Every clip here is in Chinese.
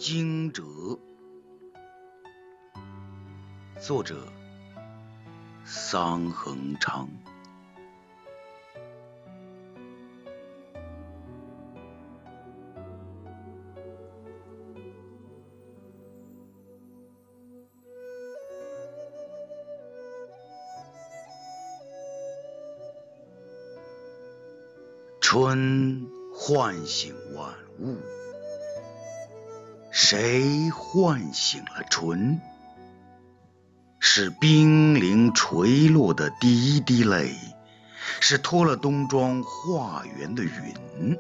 惊蛰，作者桑恒昌。春唤醒万物，谁唤醒了春？是冰凌垂落的第一滴泪，是脱了冬装化圆的云。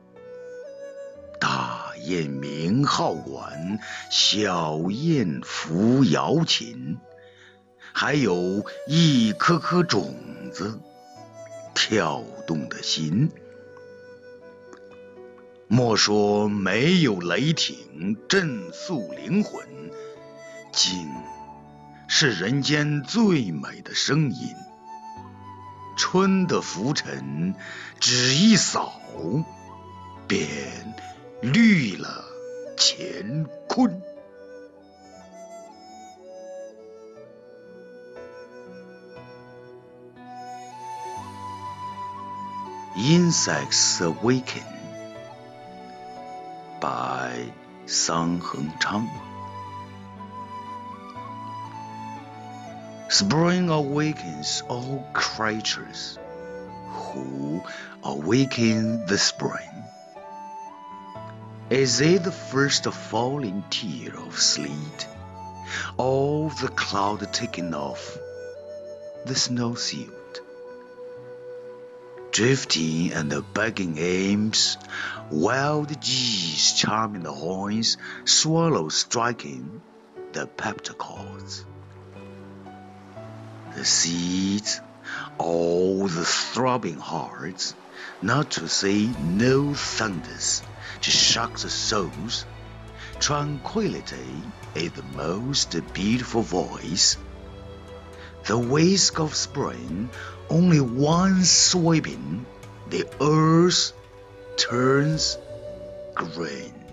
大雁鸣号管，小雁扶瑶琴，还有一颗颗种子跳动的心。莫说没有雷霆震肃灵魂，竟是人间最美的声音。春的浮尘只一扫，便绿了乾坤。Insects Awaken by 桑恒昌。Spring awakens all creatures who awaken the spring. Is it the first falling tear of sleet, or the cloud taking off the snowsuit? Drifting and begging aims, wild geese charming the horns, swallows striking the peppercorns. The seeds, all the throbbing hearts, not to say no thunders, to shock the souls. Tranquility is the most beautiful voice. The whisk of spring, only one sweeping, the earth turns green.